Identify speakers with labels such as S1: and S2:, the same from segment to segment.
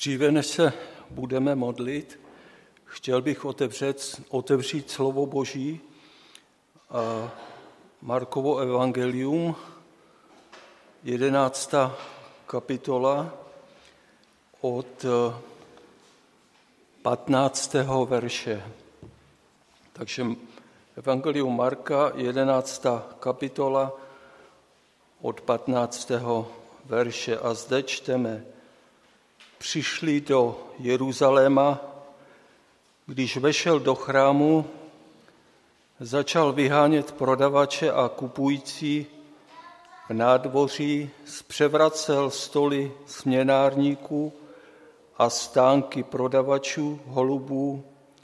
S1: Dříve než se budeme modlit, chtěl bych otevřít slovo Boží a Markovo evangelium, 11. kapitola od 15. verše. Takže evangelium Marka, 11. kapitola od 15. verše. A zde čteme: Přišli do Jeruzaléma, když vešel do chrámu, začal vyhánět prodavače a kupující v nádvoří, zpřevracel stoly směnárníků a stánky prodavačů holubů,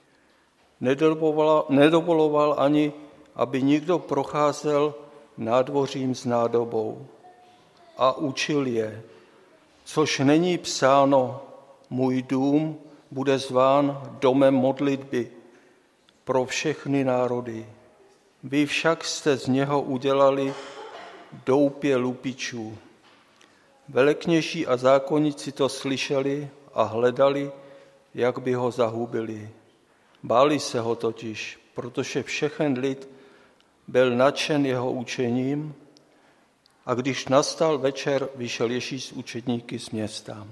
S1: nedovoloval ani, aby nikdo procházel nádvořím s nádobou, a učil je: což není psáno, můj dům bude zván domem modlitby pro všechny národy. Vy však jste z něho udělali doupě lupičů. Velekněží a zákonníci to slyšeli a hledali, jak by ho zahubili. Báli se ho totiž, protože všechen lid byl nadšen jeho učením, a když nastal večer, vyšel Ježíš s učedníky z města.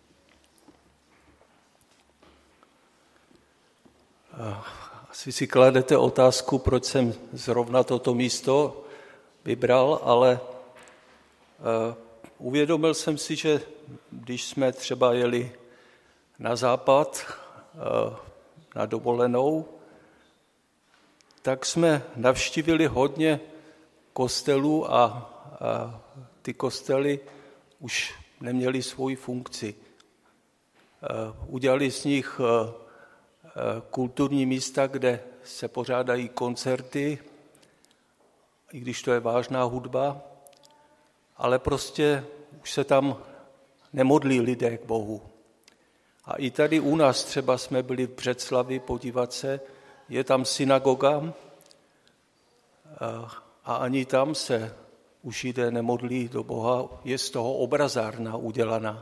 S1: Asi si kladete otázku, proč jsem zrovna toto místo vybral, ale uvědomil jsem si, že když jsme třeba jeli na západ na dovolenou, tak jsme navštívili hodně kostelů a ty kostely už neměly svoji funkci. Udělali z nich kulturní místa, kde se pořádají koncerty, i když to je vážná hudba, ale prostě už se tam nemodlí lidé k Bohu. A i tady u nás třeba jsme byli v Břeclavi podívat se, je tam synagoga a ani tam se už Židé nemodlí do Boha, je z toho obrazárna udělaná.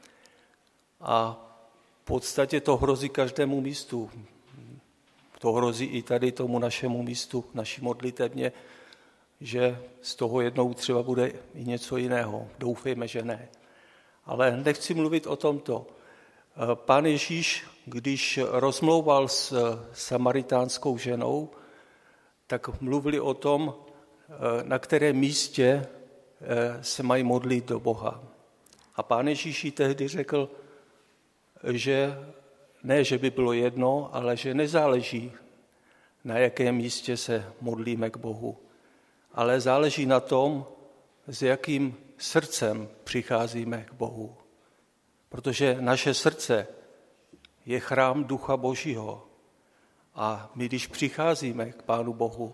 S1: A v podstatě to hrozí každému místu. To hrozí i tady tomu našemu místu, naší modlitevně, že z toho jednou třeba bude i něco jiného. Doufejme, že ne. Ale nechci mluvit o tomto. Pán Ježíš, když rozmlouval s samaritánskou ženou, tak mluvili o tom, na kterém místě se mají modlit do Boha. A Pán Ježíš jí tehdy řekl, že ne, že by bylo jedno, ale že nezáleží, na jakém místě se modlíme k Bohu, ale záleží na tom, s jakým srdcem přicházíme k Bohu. Protože naše srdce je chrám Ducha Božího. A my, když přicházíme k Pánu Bohu,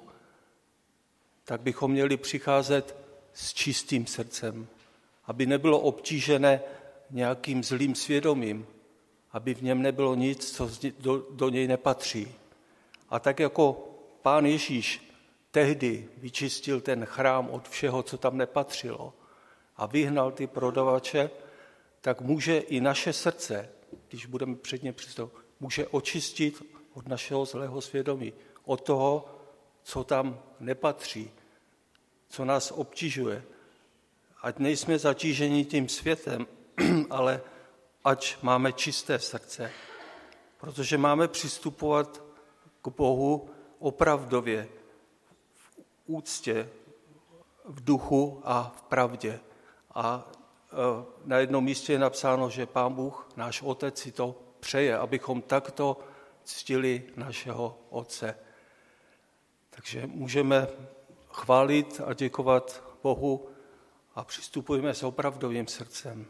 S1: tak bychom měli přicházet s čistým srdcem, aby nebylo obtížené nějakým zlým svědomím, aby v něm nebylo nic, co do něj nepatří. A tak jako Pán Ježíš tehdy vyčistil ten chrám od všeho, co tam nepatřilo, a vyhnal ty prodavače, tak může i naše srdce, když budeme před ně přistoupit, může očistit od našeho zlého svědomí, od toho, co tam nepatří, co nás obtěžuje. Ať nejsme zatíženi tím světem, ale ať máme čisté srdce, protože máme přistupovat k Bohu opravdově, v úctě, v duchu a v pravdě. A na jednom místě je napsáno, že Pán Bůh, náš Otec, si to přeje, abychom takto ctili našeho Otce. Takže můžeme chválit a děkovat Bohu a přistupujeme s opravdovým srdcem.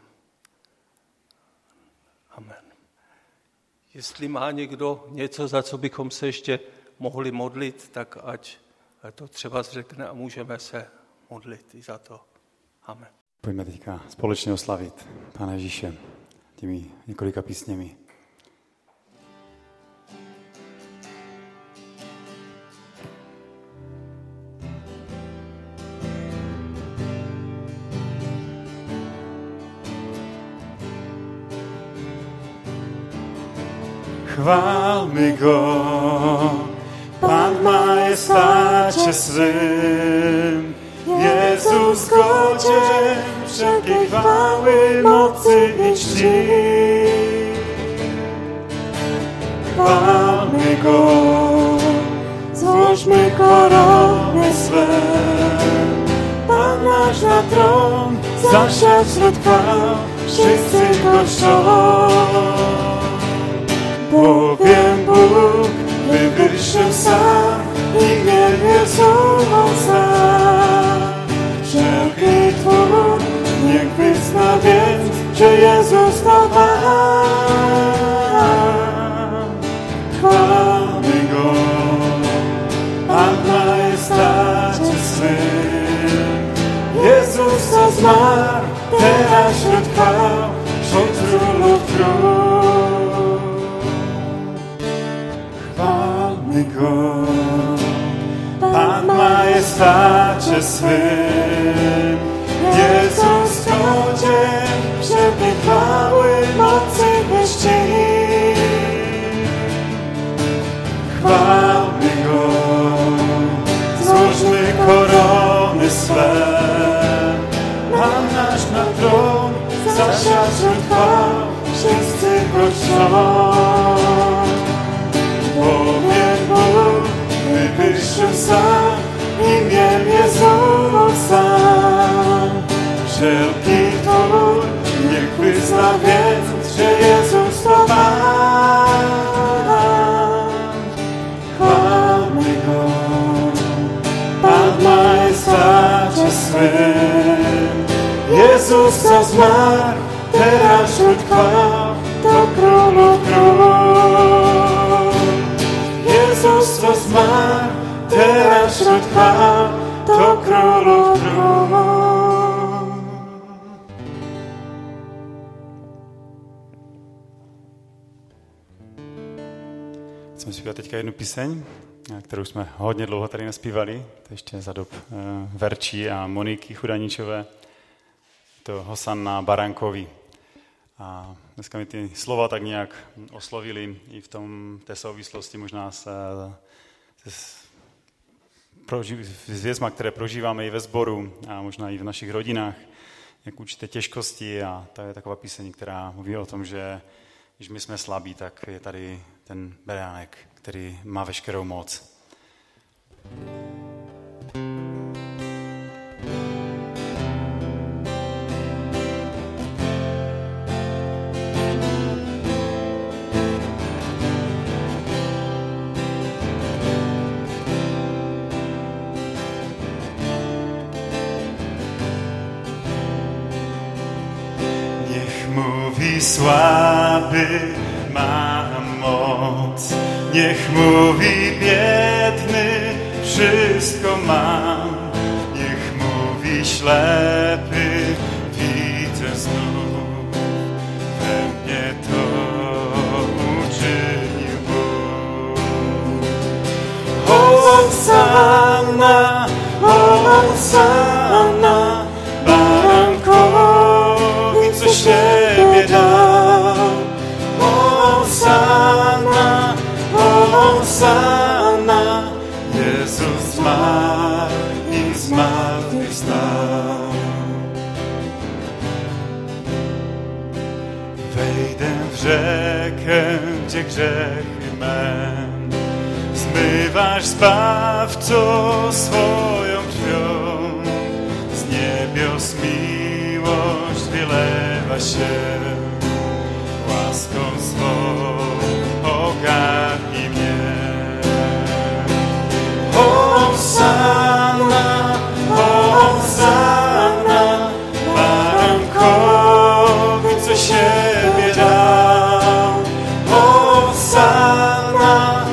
S1: Amen. Jestli má někdo něco, za co bychom se ještě mohli modlit, tak ať to třeba řekne a můžeme se modlit i za to. Amen.
S2: Pojďme teďka společně oslavit Pána Ježíše těmi několika písněmi. chwálmy Go. Pan w majestácie swym, Jezus godzien wszelkiej chwały, mocy i czci. Chwálmy Go, złożmy korony swe. Pan nasz na tron zasiadł wśród chwał, wszyscy Go czczą. Bowiem Bóg wywyższył sam imię Jezusa. Wszelki twór niech wyzna więc, że Jezus to Pan. Chwalmy Go, Pan w majestacie swym. Jezus co zmarł, teraz wśród chwał, wśród królów król. Chwalmy Go, Pan w majestacie swym. Jezus godzien wszelkiej chwały, mocy i czci. Chwalmy Go, złóżmy korony swe. Pan nasz na tron zasiadł wśród chwał, wszyscy Go czczą. Bowiem Bóg wywyższył sam imię Jezusa. Wszelki twór niech wyzna więc, że Jezus to Pan. Chwalmy Go, Pan w majestacie swym. Jezus co zmarł, teraz wśród chwał, to królów król. Jezus co zmarł, teraz wśród chwał, to królów król. Chceme zpívat teďka jednu píseň, kterou jsme hodně dlouho tady naspívali, to ještě za dob Verčí a Moniky Chudaničové, to Hosanna Barankovi. A dneska mi ty slova tak nějak oslovili i v té souvislosti možná s věcma, které prožíváme i ve sboru a možná i v našich rodinách, jak určité těžkosti, a to je taková píseň, která mluví o tom, že když my jsme slabí, tak je tady ten beránek, který má veškerou moc. Niech mówi słaby, mam moc. Niech mówi biedny, wszystko mam. Niech mówi ślepy, widzę znów. We mnie to uczynił Bóg. Hosanna, Hosanna, barankowi, co siebie dał. Hosanna, Hosanna, Jezus zmarł i zmartwychwstał. Wejdę w rzekę, gdzie grzechy me zmywasz, Zbawco, swoją krwią. Z niebios miłość wylewa się, łaską swą ogarnij mnie. Hosanna, Hosanna, barankowi, co siebie dał. Hosanna,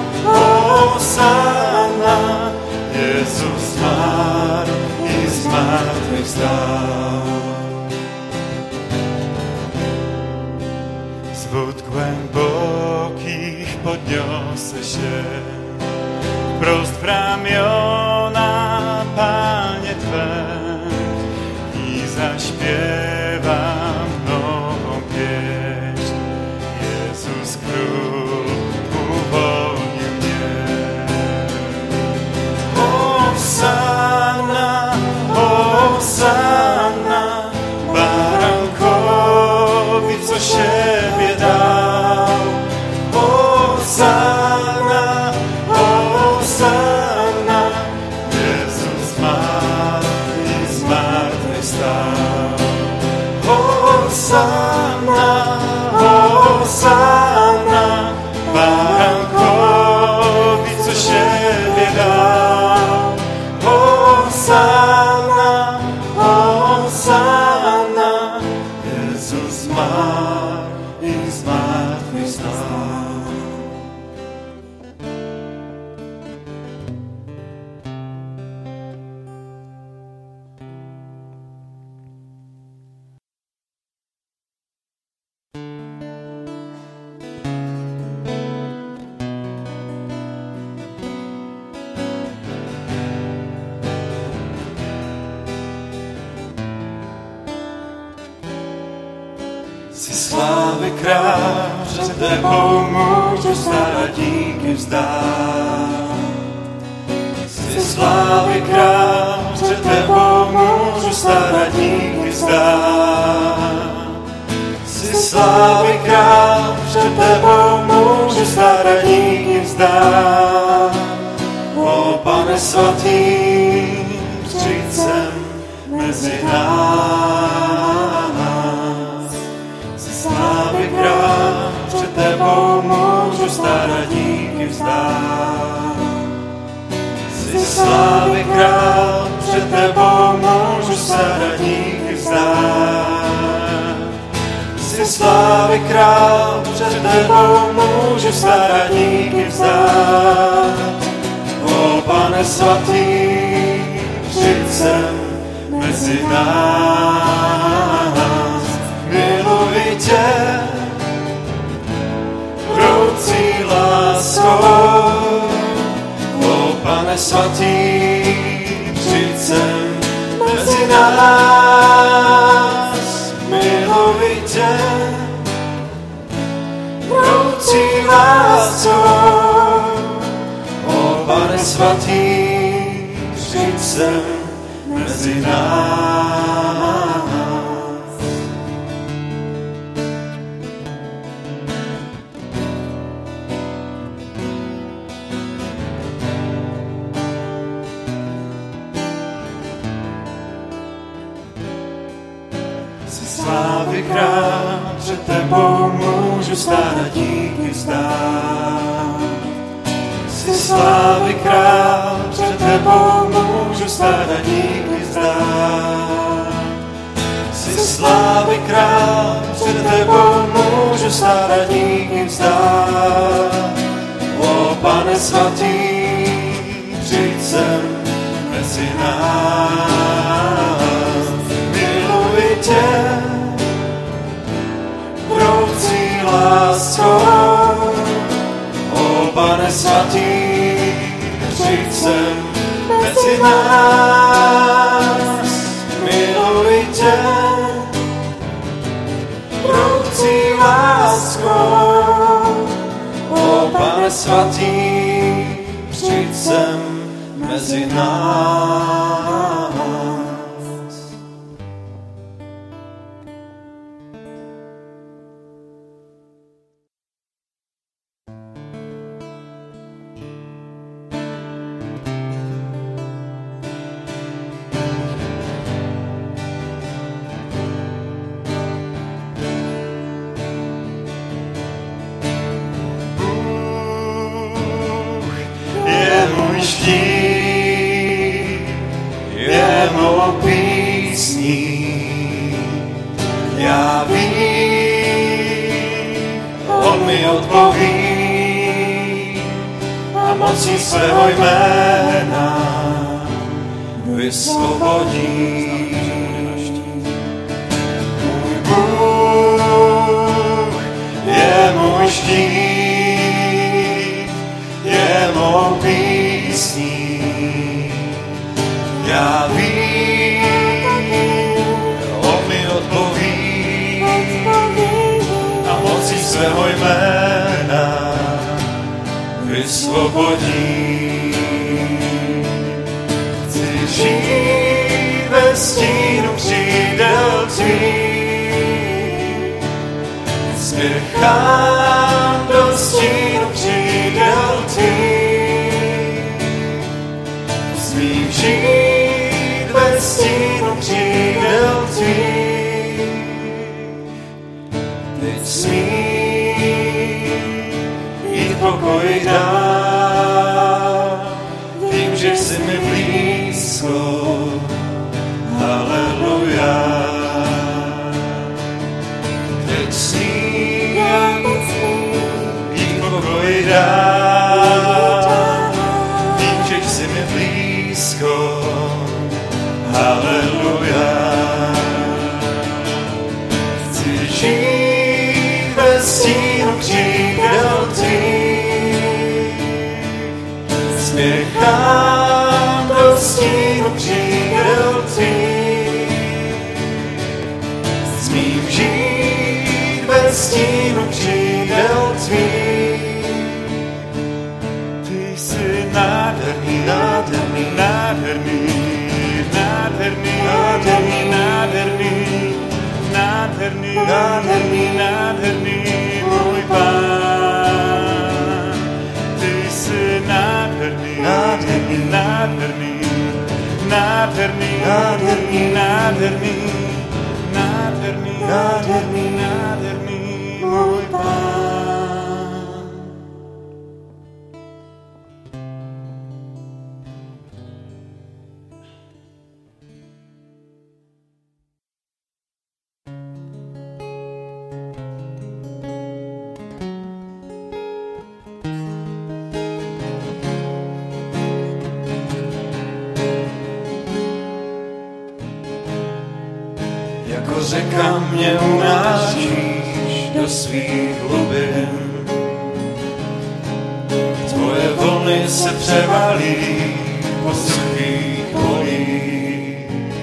S2: Hosanna, Jezus zmarł i zmartwychwstał. Z wód głębokich podniosę się, wprost w ramiona, Panie Twe, i zaśpiewam nową pieśń. Jezus Król Hosanna, Baránkovi, což je dal. Hosanna, Hosanna, Jezus má i z mrtvých vstal. Jsi slávy král, před tebou můžu stát a díky vzdát. Jsi slávy král, před tebou můžu stát a díky vzdát. Jsi slávy král, před tebou můžu stát a díky vzdát. O Pane svatý, přijď sem mezi nás. Slávy král, před tebou můžu stát a díky vzdát. Jsi slávy král, před tebou můžu stát a díky vzdát. Jsi slávy král, před tebou můžu stát a díky vzdát. O Pane svatý, přijď sem mezi nás. Miluji tě, vroucí láskou. O Pane svatý, přijď sem mezi nás. Miluji tě, vroucí láskou. O Pane svatý, přijď sem mezi nás. Slávy král, před tebou můžu stát a díky vzdát. Jsi slávy král, před tebou můžu stát a díky vzdát. Jsi slávy král, před tebou můžu stát a díky vzdát. O Pane svatý, přijď sem mezi nás. Miluji tě, vroucí láskou. O Pane svatý, přijď sem mezi nás. Miluji tě, vroucí láskou. O Pane svatý, přijď sem mezi nás. Je mou písní, já vím, on mi odpoví a mocí svého jména vysvobodí. Můj Bůh je můj štít, je mou písní. Já vím, on mi odpoví a mocí svého jména vysvobodí. Chci žít ve stínu křídel tvých, spěchám do stínu křídel tvých. Smím žít ve stínu křídel tvých, teď smím
S3: pokoj dá, vím, že jsi mi blízko, haleluja. Teď smím jí pokoj dá, vím, že jsi mi blízko, haleluja. Chci žít ve stínu křídel tvých, spěchám do stínu křídel tvých. Smím žít ve stínu křídel tvých. Ty jsi nádherný, nádherný, nádherný, nádherný, nádherný, nádherný, nádherný, nádherný, nádherný, můj Pán. Ty jsi nádherný, nádherný, nádherný, nádherný, nádherný, nádherný, nádherný, nádherný, nádherný, můj Pán. Jako řeka mě unášíš do svých hlubin, tvoje vlny se převalí po suchých polích.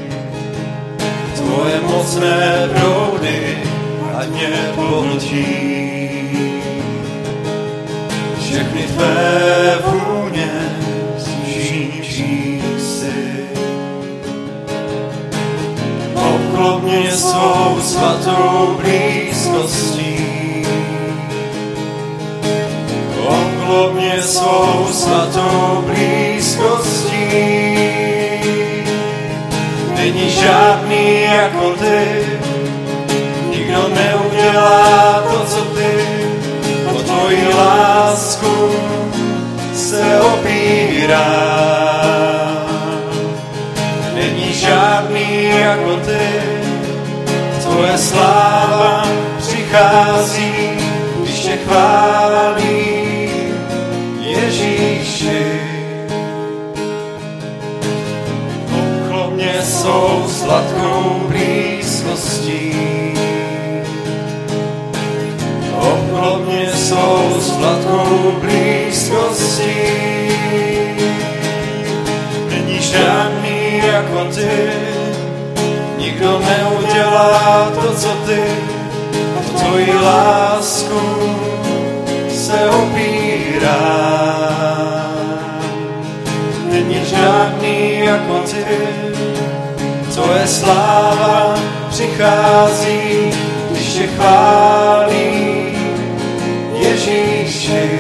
S3: Tvoje mocné proudy ať mě pohltí, všechny tvé vůně zničí si. Obklop mě svou svatou blízkostí, obklop mě svou svatou blízkostí. Není žádný jako ty, nikdo neudělá to, co ty, o tvoji lásku se opírá. Není žádný jako ty, tvoje sláva přichází, když tě chválí Ježíši. Obklop mě svou sladkou blízkostí, obklop mě svou sladkou blízkostí. Není žádný jako ty, nikdo neudělá to, co ty, o tvoji lásku se opírá. Není žádný jako ty, tvoje sláva přichází, když tě chválí Ježíši.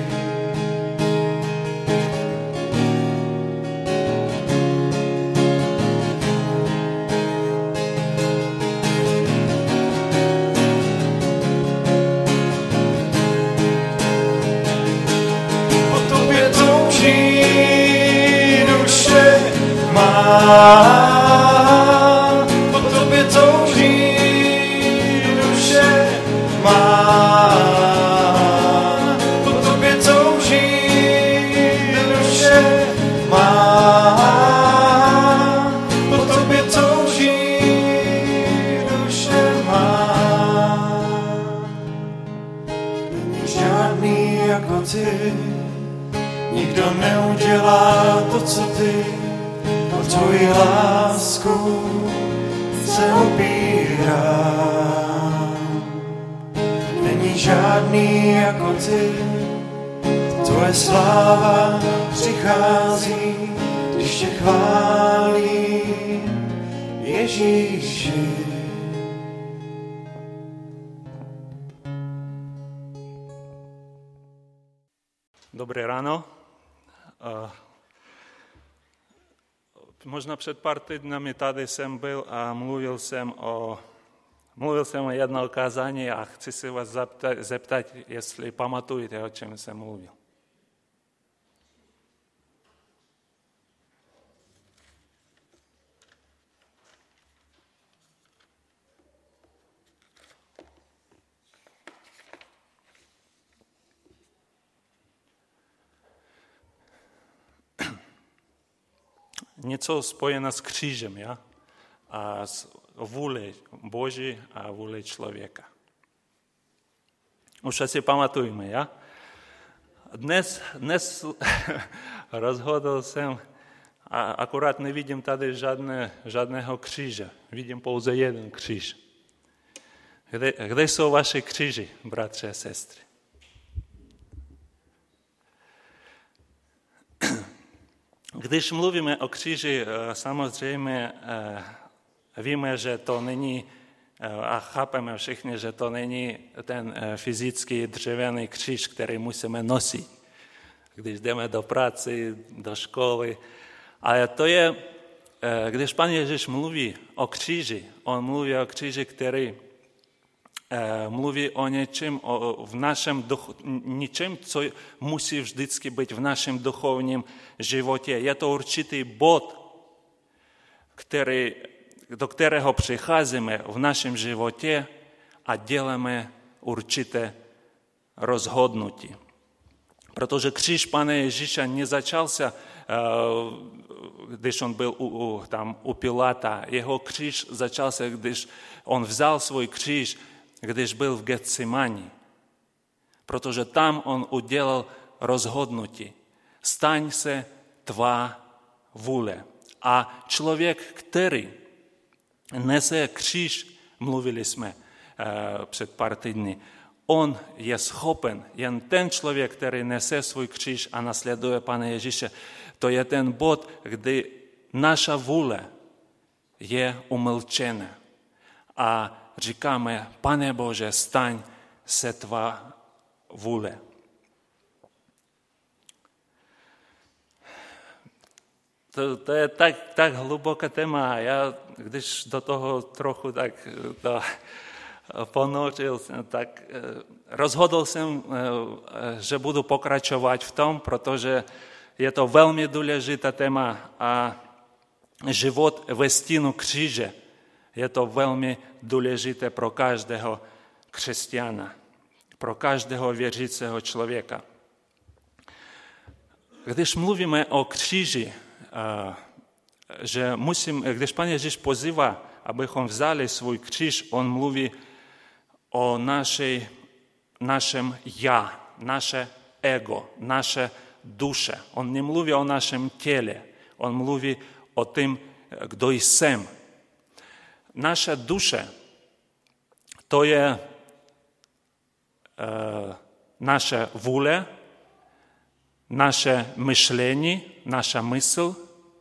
S3: Po tobě touží duše má, po tobě touží duše má, po tobě touží duše má. Není žádný jako ty, nikdo neudělá to, co ty, o tvoji lásku se opírá. Není žádný jako ty, tvoje sláva přichází, když tě chválí Ježíši.
S4: Dobré ráno. Možná před pár týdnami tady jsem byl a mluvil jsem o Mluvil jsem jedno kázání a chci se vás zeptat, jestli pamatujete, o čem jsem mluvil. Něco spojené s křížem, ja? A s vůli Boží a vůli člověka. Už asi pamatujeme, ja? Dnes rozhodl jsem, a akorát nevidím tady žádného kříže. Vidím pouze jeden kříž. Kde jsou vaše kříži, bratři a sestry? Když mluvíme o kříži, samozřejmě víme, že to není, a chápeme všichni, že to není ten fyzický dřevěný kříž, který musíme nosit, když jdeme do práce, do školy. Ale to je, když Pán Ježíš mluví o kříži, on mluví o kříži, který mluví o něčem, v našem něčem, co musí vždycky být v našem duchovním životě. Je to určitý bod, do kterého přicházíme v našem životě a děláme určité rozhodnutí. Protože kříž Pana Ježíše nezačался, když on byl tam u Pilata. Jeho kříž začался, když on vzal svůj kříž, když byl v Getsemani. Protože tam on udělal rozhodnutí. Staň se tvá vůle. A člověk, který nese kříž, mluvili jsme před pár týdny, on je schopen, jen ten člověk, který nese svůj kříž a nasleduje Pana Ježíše, to je ten bod, kdy naša vůle je umlčena. A říkáme, Pane Bože, staň se tvá vůle. To je tak hluboké téma. Já, když do toho trochu tak to ponořil, tak rozhodl jsem, že budu pokračovat v tom, protože je to velmi důležité téma a život ve stínu kříže je to velmi důležité pro každého křesťana, pro každého věřícího člověka. Když mluvíme o kříži, že když Pán Ježíš pozývá, abychom vzali svůj kříž, on mluví o našem já, naše ego, naše duše. On nemluví o našem těle, on mluví o tom, kdo jsem. Naše duše, to je naše vůle, naše myšlení, naša mysl.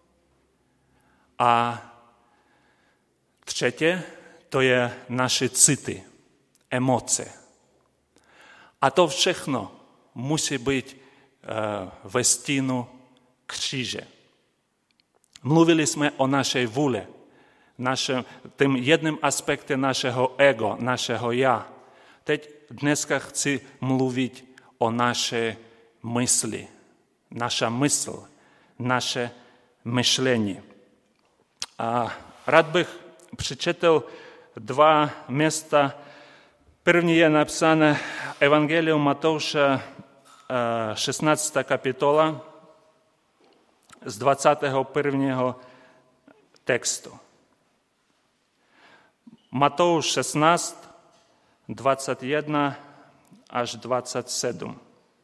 S4: A třetí, to je naše city, emoce. A to všechno musí být ve stínu kříže. Mluvili jsme o naší vůli, tím jedním aspektem našeho ego, našeho já. Teď dneska chci mluvit o naší mysli, naša mysl, naše myšlení. A rád bych přečetl 2 místa. První je napsané Evangelium Matouša, 16. kapitola, z 21. textu. Matouš 16, 21 až 27.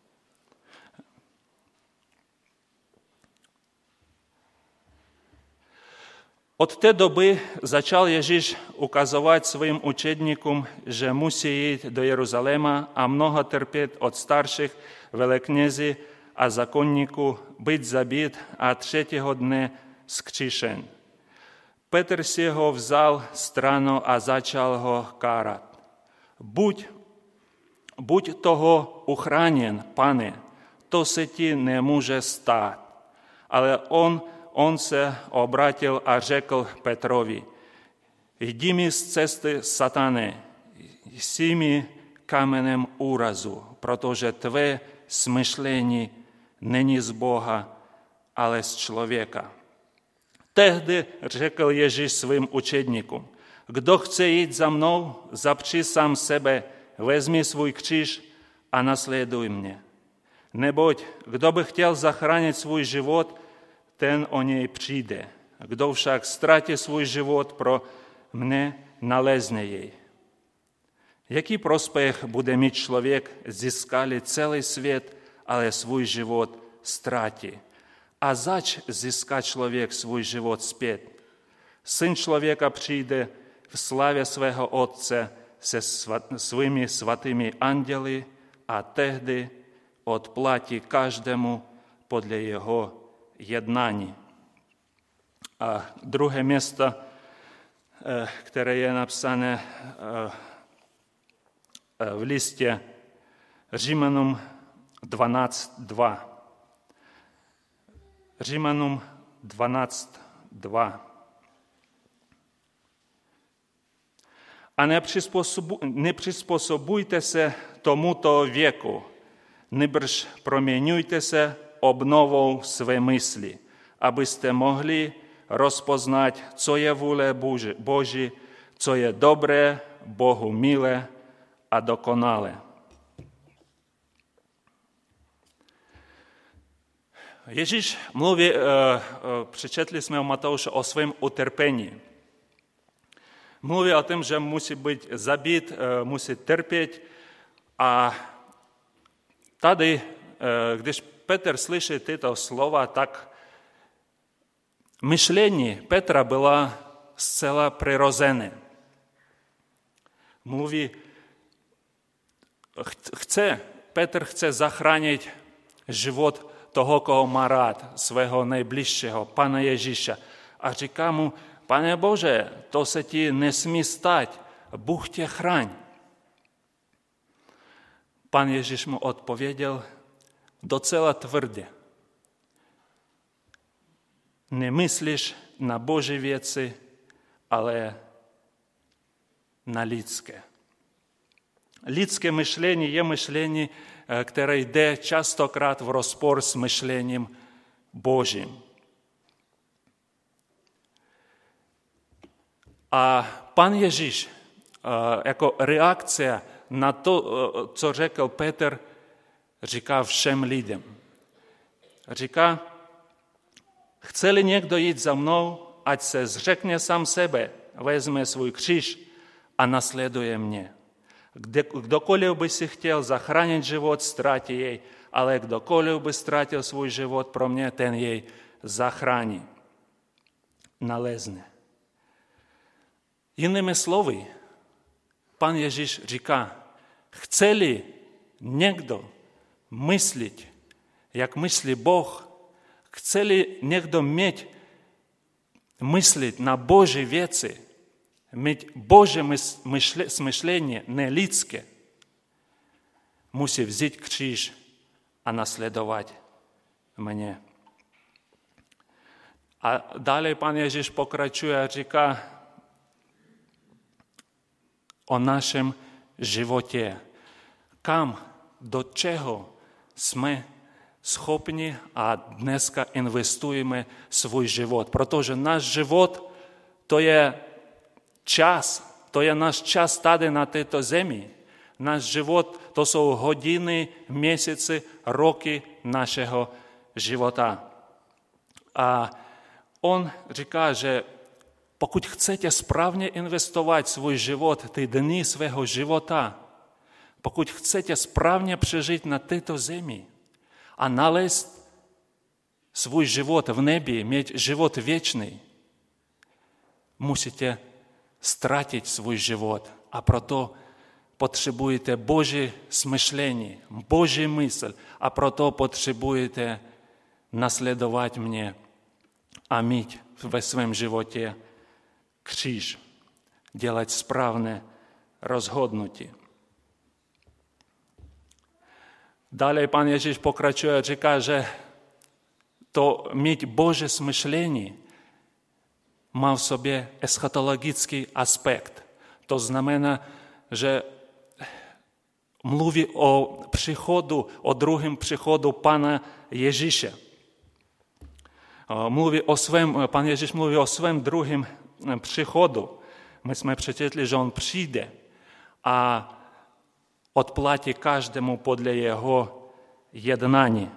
S4: Od té doby začal Ježíš ukazovat svým učedníkům, že musí jít do Jeruzaléma a mnoho trpět od starších veleknězí a zákonníků, být zabit a 3. dne zkříšen. Petr si ho vzal stranu a začal ho kárat. Buď toho uchráněn, Pane, to se ti nemůže stát. Ale on se obrátil a řekl Petrovi, Йди з цести сатани, сіми каменем уразу, protože tvé smyšlení není z Boha, ale z člověka. Tehdy řekl Ježíš svým učedníkům, kdo chce jít za mnou, zapři sám sebe, vezmi svůj kříž a nasleduj mě. Neboť kdo by chtěl zachránit svůj život, ten o něj přijde. Kdo však ztratí svůj život pro mne, nalezne jej. Jaký prospěch bude mít člověk, získali celý svět, ale svůj život ztratí? A zač získá člověk svůj život zpět? Syn člověka přijde v slavě svého Otce se svými svatými anděli a tehdy odplatí každému podle jeho jednání. A druhé místo, které je napsané v listě Římanům 12.2. Římanům 12.2. A nepřizpůsobujte se tomuto věku, nýbrž proměňujte se obnovou své mysli, abyste mohli rozpoznat, co je vůle Boží, co je dobré, Bohu milé a dokonalé. Ježíš mluví, přečetli jsme u Matouše o svém utrpení. Mluví o tom, že musí být zabit, musí trpět. A tady, když Petr slyší tyto slova, tak myšlení Petra bylo zcela přirozené. Mluví, Petr chce zachránit život toho, koho má rád, svého nejbližšího, Pana Ježíše. A říká mu, Pane Bože, to se ti nesmí stát, Bůh tě chraň. Pan Ježíš mu odpověděl docela tvrdě. Nemyslíš na Boží věci, ale na lidské. Lidské myšlení je myšlení, které jde častokrát v rozpor s myšlením Božím. A Pan Ježíš jako reakce na to, co řekl Petr, říká všem lidem. Říká, chce-li někdo jít za mnou, ať se zřekne sám sebe, vezme svůj kříž a nasleduje mě. Kdokoliv by si chtěl zachránit život, ztratí jej, ale kdokoliv by ztratil svůj život pro mě, ten jej zachrání, nalezne. Jinými slovy, Pan Ježíš říká, chce-li někdo myslit, jak myslí Boh, chce-li někdo mít myslit na Boží věci, mít Boží smyšlení, ne lidské, musí vzít kříž a nasledovat mě. A dále Pan Ježíš pokračuje a říká o našem životě. Kam, do čeho jsme schopni a dneska investujeme svůj život. Protože náš život to je čas, to je náš čas tady na této zemi. Náš život to jsou hodiny, měsíce, roky našeho života. A on říká, že pokud chcete správně investovat svůj život, ty dny svého života, pokud chcete správně přežít na této zemi a nalézt svůj život v nebi, mít život věčný, musíte ztratit svůj život. A proto potřebujete Boží smyšlení, Boží mysl a proto potřebujete nasledovat mě a mít ve svém životě kříž, dělat správné rozhodnutí. Dále Pan Ježíš pokračuje a říká, že to mít Boží smyšlení má v sobě eschatologický aspekt. To znamená, že mluví o příchodu, o druhém příchodu Pana Ježíše. Pan Ježíš mluví o svém druhém příchodu. My jsme přečetli, že on přijde a odplatí každému podle jeho jednání.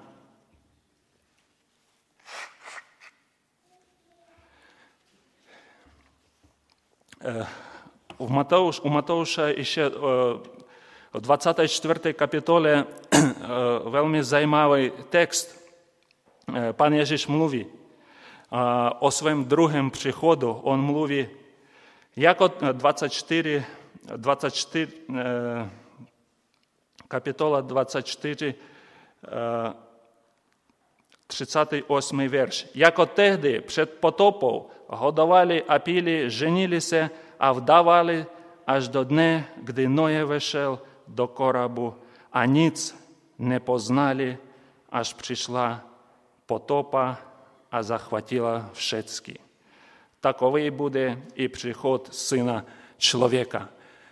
S4: U Matouša ještě v 24. kapitole velmi zajímavý text. Pan Ježíš mluví o svém druhém příchodu. On mluví jako 24, kapitola 24, 38 verš. Jako tehdy před potopou hodovali a pili, ženili se a vdávali až do dne, kdy Noe vešel do kораbu a nic nepoznali, až přišla potopa a захватила všecky. Takový bude i příchod Syna člověka.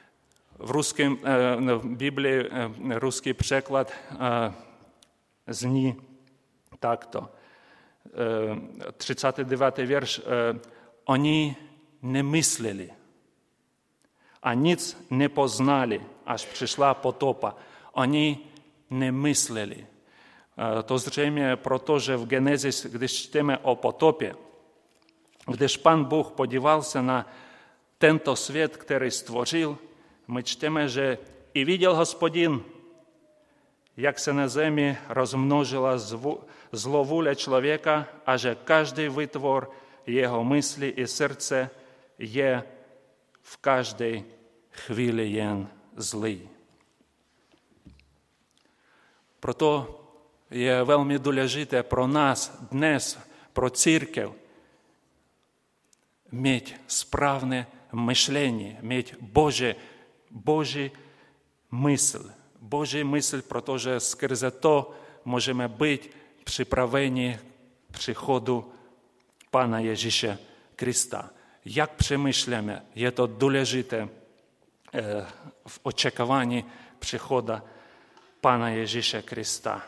S4: V Biblii ruský překlad zní takto. 39. verš. Oni nemysleli a nic nepoznali, až přišla potopa. Oni nemysleli. To zřejmě proto, že v Genesis, když čteme o potopě, když Pan Bůh podíval se na tento svět, který stvořil, my čteme, že i viděl Hospodin, jak se na zemi rozmnožila zlovůle člověka a že každý vytvor jeho mysli i srdce je v každé chvíli jen zlý. Proto je velmi důležité pro nás dnes, pro církev, mít správné myšlení, mít Boží mysl. Boží mysl, protože skrze to můžeme být připraveni k příchodu Pana Ježíše Krista. Jak přemýšlíme, je to důležité v očekávání příchodu Pana Ježíše Krista.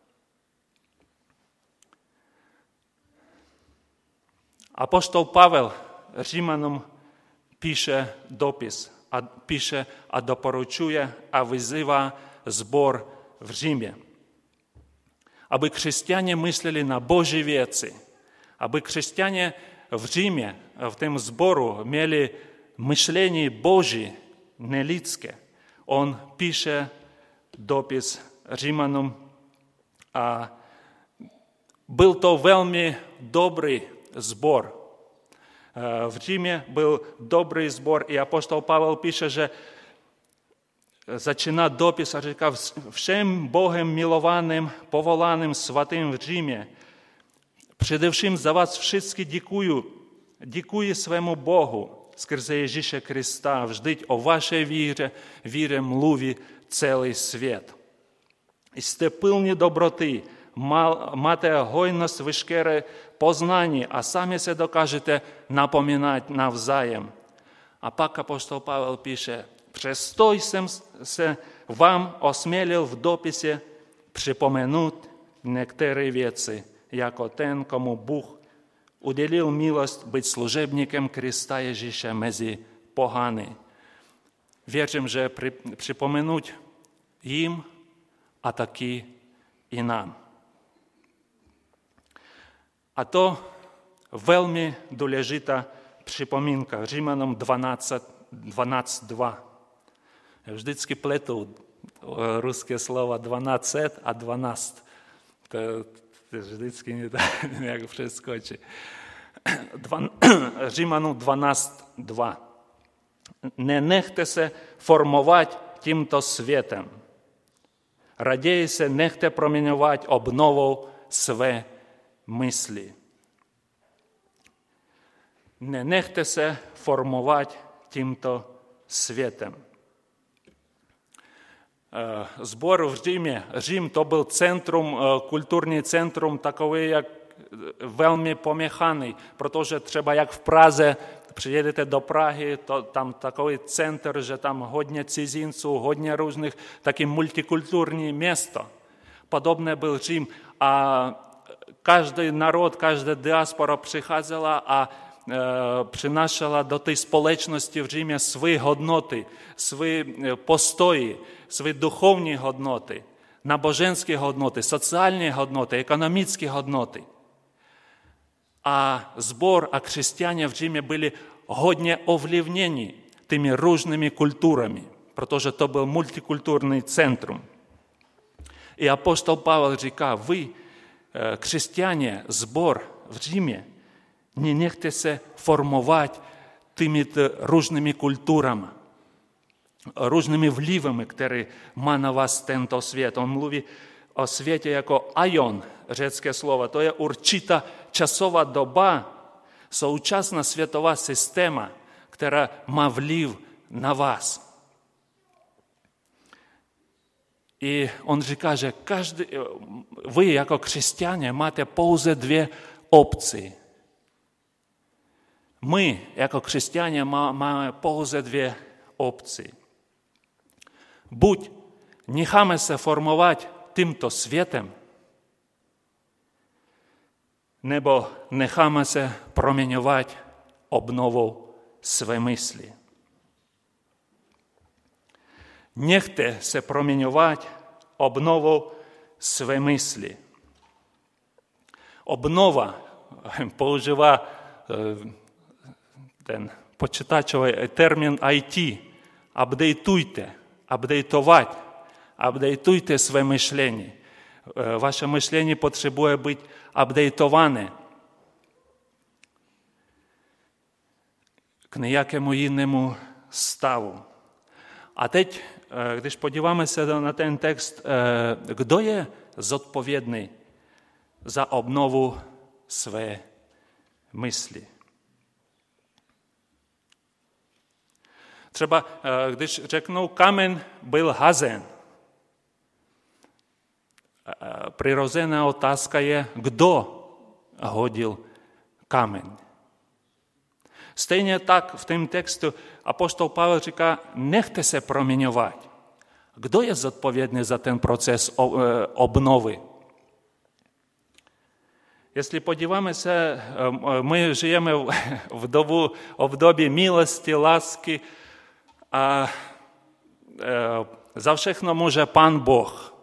S4: Apoštol Pavel Římanům píše dopis a doporučuje a vyzývá sbor v Římě, aby křesťané mysleli na Boží věci, aby křesťané v Římě, v tom sboru, měli myšlení Boží, nelidské. On píše dopis Římanům a byl to velmi dobrý sbor. V Římě byl dobrý sbor i apoštol Pavel píše, že začíná dopis a říká všem Bohem milovaným, povolaným svatým v Římě. Především za vás všichni děkuji svému Bohu skrze Ježíše Krista. Vždyť o vaší víře mluví celý svět. Jste plní dobroty, máte hojnost veškeré poznání a sami se dokážete napomínat navzájem. A pak apoštol Pavel píše, přesto jsem se vám osmělil v dopise připomenout některé věci, jako ten, komu Bůh udělil milost být služebníkem Krista Ježíše mezi pohany. Věřím, že připomenout jim a taky i nám. A to velmi důležitá připomínka. Římanům 12:2. Já vždycky pletu ruské slova 12 a 12. To vždycky nějak přeskočí. Římanům 12:2. Nenechte se formovat tímto světem. Raději se nechte proměňovat obnovou své mysli. Nenechte se formovat tímto světem. Sbor v Římě. Řím to byl centrum, kulturní centrum, takové, jak velmi pomíchaný, protože třeba jak v Praze, přijedete do Prahy, to tam takový center, že tam hodně cizinců, hodně různých, taky multikulturní město. Podobné byl Řím a každý národ, každá diaspora přicházela a přinášela do té společnosti v Římě své hodnoty, své postoji, své duchovní hodnoty, náboženské hodnoty, sociální hodnoty, ekonomické hodnoty. A sbor a křesťané v Římě byli hodně ovlivněni těmi různými kulturami, protože to byl multikulturní centrum. I apostol Pavel říká, vy, křesťané, sbor v Římě, не nechte se formovat těmito různými kulturami, různými vlivami, které má na vás tento svět. On mluví o světě jako aion, řecké slovo. To je určitá časová doba, současná světová systéma, která má vliv na vás. I on říká, že vy jako křesťané máte pouze dvě opce. My jako křesťané máme pouze dvě opce. Buď necháme se formovat tímto světem, nebo necháme se proměňovat obnovou své mysli. Nechte se proměňovat obnovou své mysli. Obnova používá ten počítačový termín IT. Updateujte své myšlení. Vaše myšlení potřebuje být updateované k nějakému jinému stavu. A teď, když podíváme se na ten text, kdo je zodpovědný za obnovu své mysli? Třeba když řeknou, kámen byl hazen, přirozená otázka je, kdo hodil kámen. Stejně tak v tom textu apostol Pavel říká, nechte se proměňovat. Kdo je zodpovědný za ten proces obnovy? Jestli podíváme se, my žijeme v období milosti, lásky a za všechno může Pán Boh.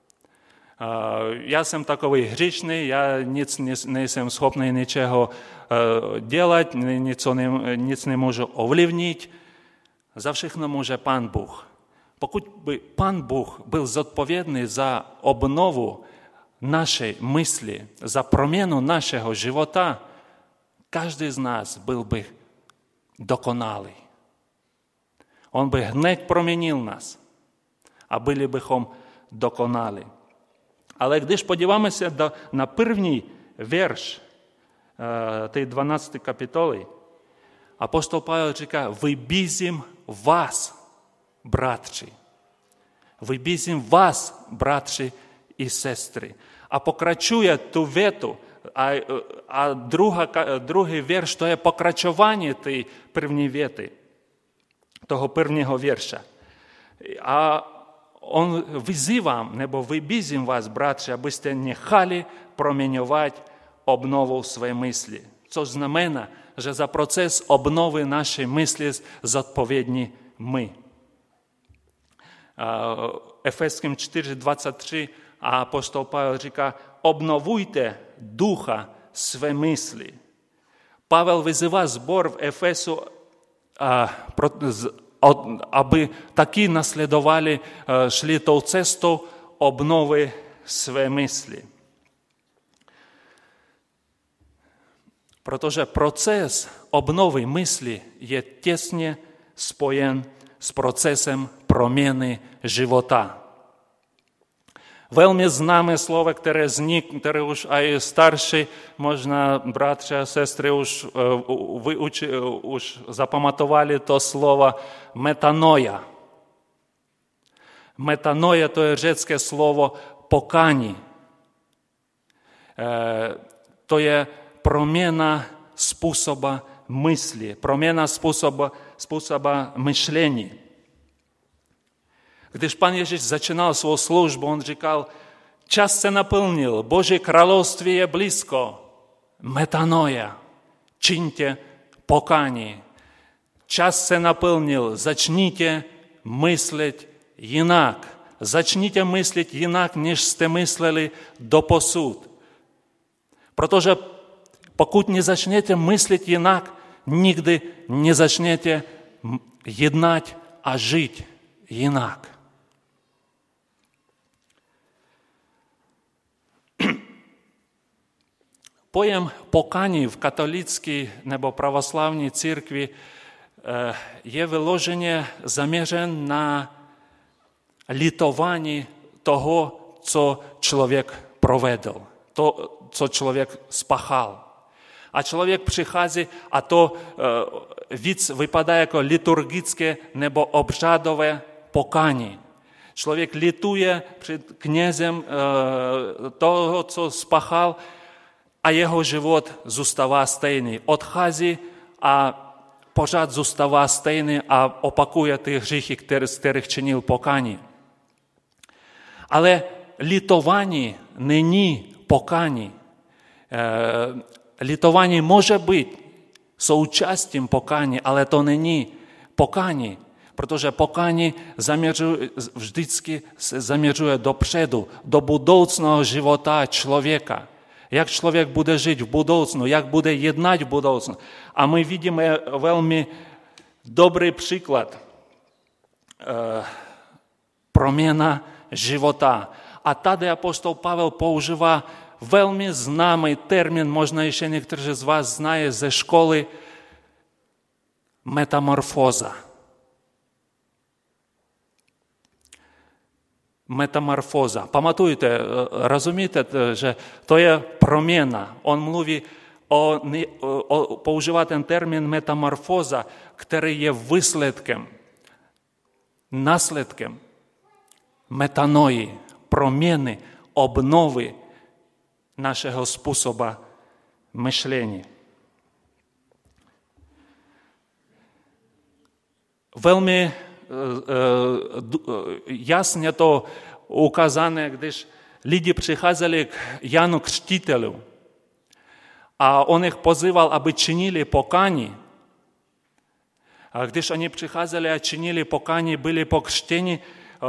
S4: Já jsem takový hříšný, já nejsem schopný ničeho dělat, nic nemůžu ovlivnit. Za všechno může Pán Bůh. Pokud by Pán Bůh byl zodpovědný za obnovu naší mysli, za proměnu našeho života, každý z nás byl by dokonalý. On by hned proměnil nás a byli bychom dokonalí. Ale když podíváme se na první verš té 12. kapitoly, apostol Pavel říká, vybízím vás, bratři. Vybízím vás, bratři i sestry. A pokračuje tu větu. A druhý verš, to je pokračování té první věty, toho prvního verša. A on vyzývám, nebo vybízím vás, bratři, abyste nechali proměňovat obnovu své mysli. Což znamená, že za proces obnovy naší mysli zodpovědní my. Efeským 4:23 a apostol Pavel říká, obnovujte ducha své mysli. Pavel vyzývá sbor v Efesu, aby taky nasledovali, šli tou cestou obnovy své mysli. Protože proces obnovy mysli je těsně spojen s procesem proměny života. Velmi známé slovo, které už i starší, možná bratři a sestry už zapamatovali to slovo metanoia. Metanoia to je řecké slovo pokání. to je proměna způsoba mysli, proměna způsoba myšlení. Když Pan Ježíš začínal svou službu, on říkal, čas se naplnil, Boží království je blízko, metanoia, čiňte pokání. Čas se naplnil, začněte myslet jinak. Začněte myslet jinak, než jste mysleli doposud. Protože pokud nezačnete myslet jinak, nikdy nezačnete jednat a žít jinak. Pojem pokání v katolické nebo pravoslavní církvi je vyloženě zaměřen na litování toho, co člověk provedl, to, co člověk spáchal. A člověk přichází a to víc vypadá jako liturgické nebo obřadové pokání. Člověk lituje před knězem toho, co spáchal, a jeho život zůstává stejný. Odchází a pořád zůstává stejný a opakuje ty hříchy, z kterých činil pokání. Ale litování není pokání. Litování může být součástí pokání, ale to není pokání, protože pokání vždycky se zaměřuje dopředu, do budoucného života člověka. Jak člověk bude žít v budoucnu, jak bude jednat v budoucnu. A my vidíme velmi dobrý příklad proměna života. A tady apostol Pavel používá velmi známý termín, možná ještě někteří z vás znají ze školy, metamorfóza. Metamorfóza. Pamatujte, rozumíte, že to je proměna. On mluví používá ten termín metamorfóza, který je výsledkem, následkem metanoji, proměny, obnovy našeho způsobu myšlení. Velmi jasně to ukázané, když lidi přicházeli k Janu Křtitelu a on jich pozýval, aby činili pokání. A když oni přicházeli a činili pokání, byli pokřtěni,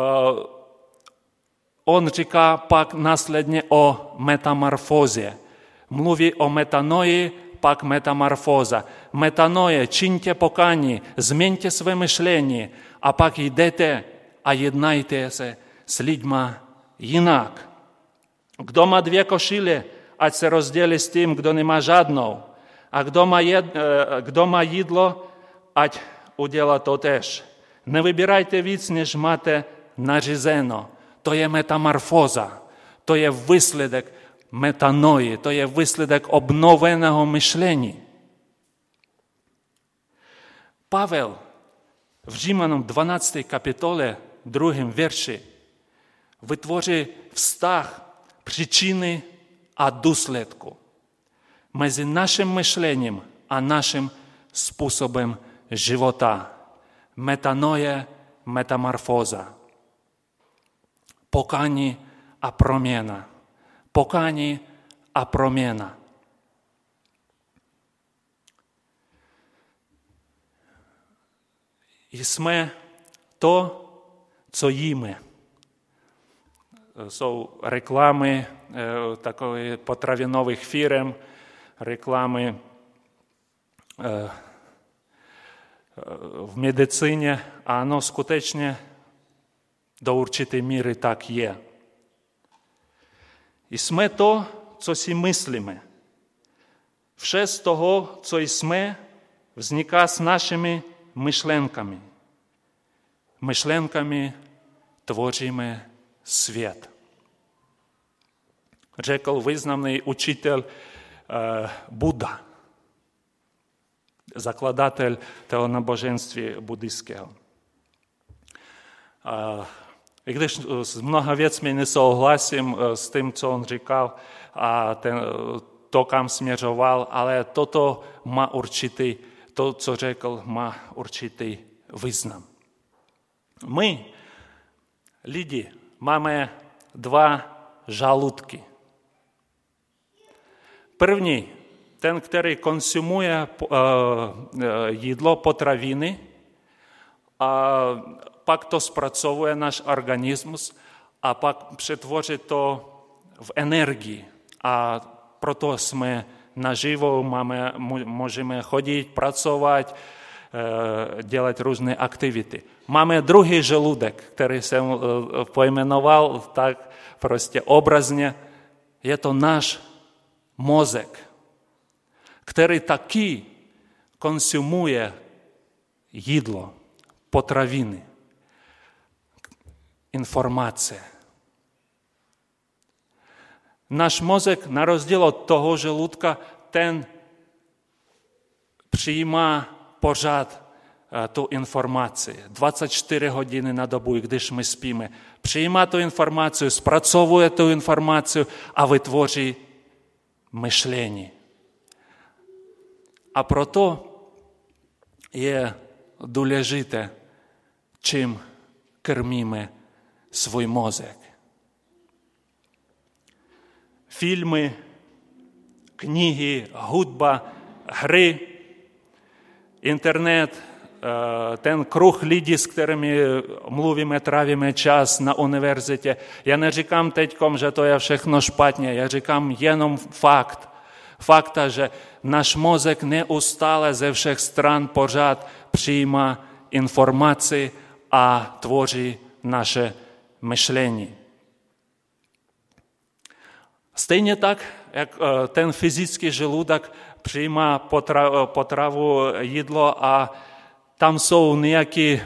S4: on říká pak následně o metamorfóze. Mluví o metanoji, pak metamorfóza. Metanoje, čiňte pokání, změňte své myšlení a pak jdete a jednajte se s lidma jinak. Kdo má 2 košile, ať se rozdělí s tím, kdo nemá žádnou. A kdo má jídlo, ať udělá to tež. Nevybírajte víc, než máte nařízeno. To je metamorfóza. To je výsledek metanoji. To je výsledek obnoveného myšlení. Pavel v Římanům 12. kapitole 2. verši vytvoří vztah příčiny a důsledku mezi naším myšlením a naším způsobem života. Metanoje, metamorfóza. Pokání a proměna. Pokání a proměna. Jsme to, co jíme. Jsou reklamy takových potravinových firm, reklamy v medicíně. Ano, skutečně do určité míry tak je. Jsme to, co si myslíme. Vše z toho, co jsme, vzniká s našimi myšlenkami. Myšlenkami tvoříme svět. Řekl významný učitel Buddha, zakladatel toho náboženství buddhistického. I když s mnoha věcmi nesouhlasím s tím, co on říkal, a to, kam směřoval, ale toto má to, co řekl, má určitý význam. My, lidi, máme 2 žaludky. První, ten, který konsumuje jídlo, potraviny, a pak to zpracovuje náš organismus a pak přetvoří to v energii. A proto jsme naživo, můžeme chodit, pracovat, dělat různé aktivity. Máme druhý žaludek, který jsem pojmenoval tak prostě obrazně. Je to náš mozek, který taky konsumuje jídlo, potraviny, informace. Náš mozek, na rozdíl od toho žaludka, ten přijímá pořád tu informaci. 24 hodin na dobu, i když my spíme. Přijímá tu informaci, zpracovuje tu informaci a vytvoří myšlení. A proto je důležité, čím krmíme svůj mozek. Filmy, knihy, hudba, hry, internet, ten kruh lidí, s kterými mluvíme, trávíme čas na univerzitě. Já neříkám teďkom, že to je všechno špatně, já říkám jenom fakta, že náš mozek neustále ze všech stran pořád přijímá informaci a tvoří naše myšlení. Stejně tak, jak ten fyzický žaludek přijímá potravu, jídlo a tam jsou nějaké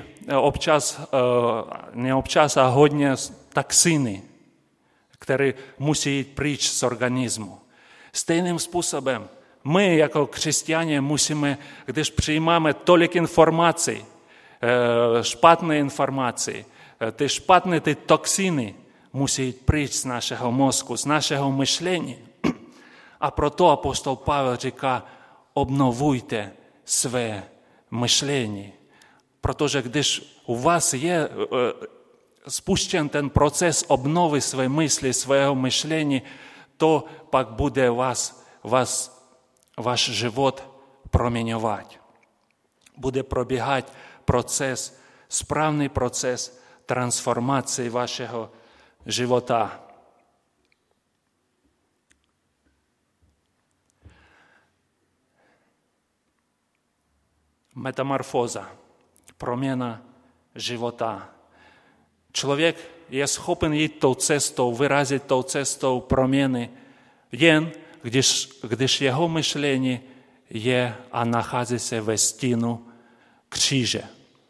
S4: neobčas a hodně toxiny, které musí jít pryč z organismu. Stejným způsobem my jako křesťané musíme, když přijímáme tolik informací, špatné informace, ty toxiny musí jít pryč z našeho mozku, z našeho myšlení. A proto apostol Pavel říká, obnovujte své myšlení. Protože když u vás je spuštěn ten proces obnovy své mysli, svého myšlení, to pak bude váš život proměňovat. Bude probíhat správný proces transformace vašeho života. Metamorfóza, proměna života. Člověk je schopen jít tou cestou, vyrazit tou cestou proměny, jen když jeho myšlení je a nachází se ve stínu kříže.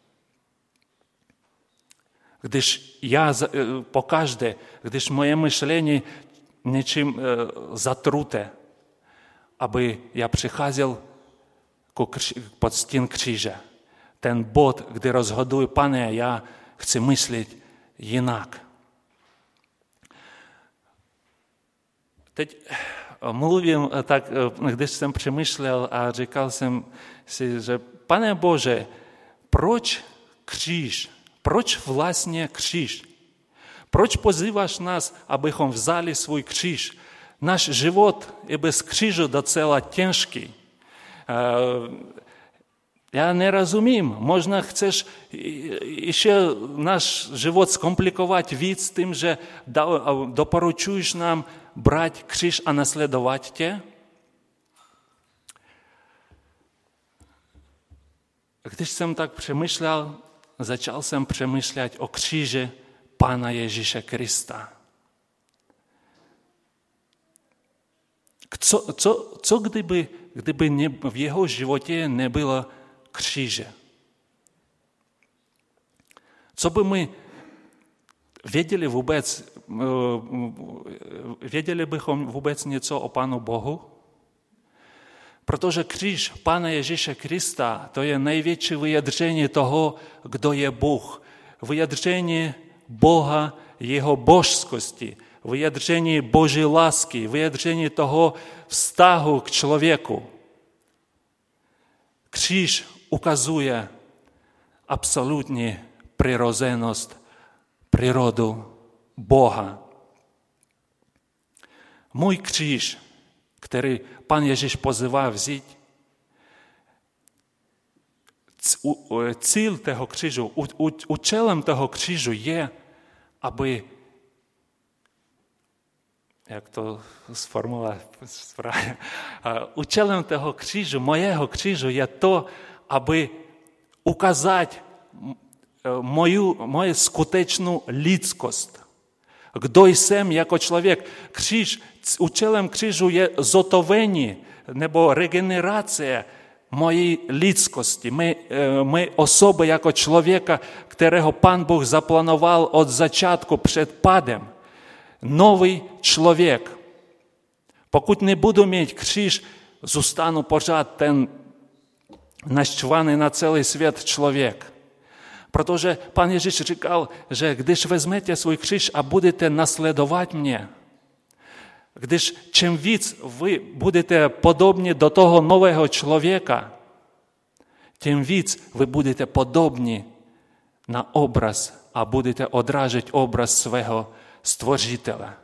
S4: Když moje myšlení něčím zatruté, aby já přicházel pod stín kříže. Ten bod, kdy rozhoduji, Pane, já chci myslet jinak. Teď mluvím tak, když jsem přemýšlel a říkal jsem si, že Pane Bože, proč kříž? Proč vlastně kříž? Proč pozýváš nás, abychom vzali svůj kříž? Náš život je bez kříže docela těžký. Já nerozumím, možná chceš ještě náš život zkomplikovat víc tím, že doporučuješ nám brát kříž a nasledovat tě? Když jsem tak přemýšlel, začal jsem přemýšlet o kříži Pána Ježíše Krista. Co kdyby v jeho životě nebylo kříže? Co by my věděli bychom vůbec něco o Pánu Bohu? Protože kříž Pána Ježíše Krista, to je největší vyjádření toho, kdo je Bůh. Vyjádření Boha, jeho božskosti, vyjádření Boží lásky, vyjádření toho vztahu k člověku. Kříž ukazuje absolutní přirozenost, přírodu Boha. Můj kříž, který Pan Ježíš pozývá vzít, cíl toho křížu, účelem toho křížu je, aby, jak to sformulovat správně, účelem toho křížu, mojeho křížu je to, aby ukázat moju skutečnou lidskost. Kdo jsem jako člověk? Účelem křížu je zotovení nebo regenerace mojí lidskosti, my osoby jako člověka, kterého Pán Bůh zaplanoval od začátku před pádem. Nový člověk. Pokud nebudu mít kříž, zůstanu pořád ten naštvaný na celý svět člověk. Protože Pán Ježíš říkal, že když vezmete svůj kříž a budete nasledovat mě, když čím víc vy budete podobní do toho nového člověka, tím víc vy budete podobní na obraz a budete odrážet obraz svého Stvořitele.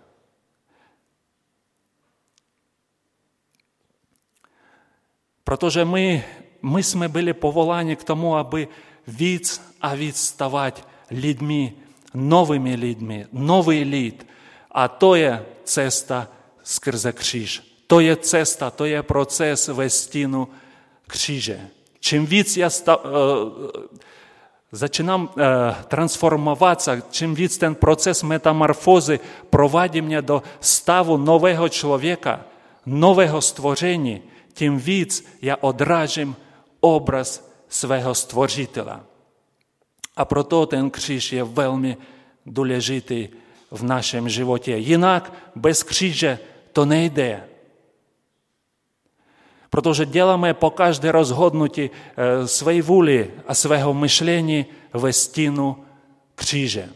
S4: Protože my jsme byli povoláni k tomu, aby víc a víc stavať lidmi, nový lid. A to je cesta skrze kříž. To je cesta, to je proces ve stínu kříže. Čím víc já začínám transformovat, čím víc ten proces metamorfózy provádí mě do stavu nového člověka, nového stvoření, tím víc já odrážím obraz svého Stvořitela. A proto ten kříž je velmi důležitý v našem životě. Jinak bez kříže to nejde. Protože děláme po každé rozhodnutí své vůli a svého myšlení ve stínu kříže.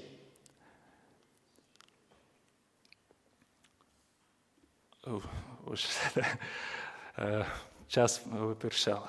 S4: Už čas vypršel.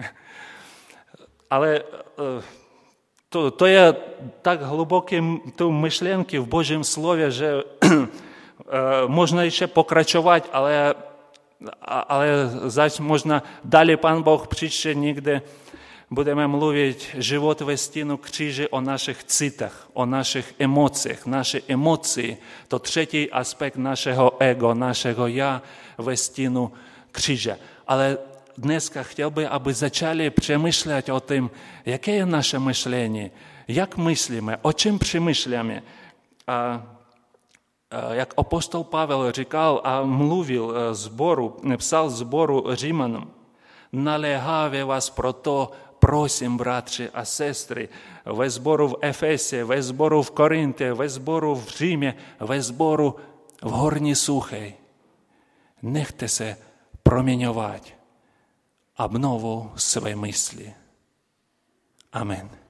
S4: Ale to je tak hluboké myšlenky v Božím slově, že možná ještě pokračovat, ale zač možná dále Pán Boh příště někde budeme mluvit život ve stínu kříže o našich citech, o našich emocích. Naše emoce, to třetí aspekt našeho ego, našeho já ve stínu kříže. Ale dneska chtěl bych, aby začali přemýšlet o tom, jaké je naše myšlení, jak myslíme, o čem přemýšláme. Jak apostol Pavel říkal a mluvil psal sboru Římanům, naléhavě vás proto prosím, bratři a sestry, ve sboru v Efese, ve sboru v Korintě, ve sboru v Římě, ve sboru v Horní Suché. Nechte se proměňovat obnovou své mysli. Amen.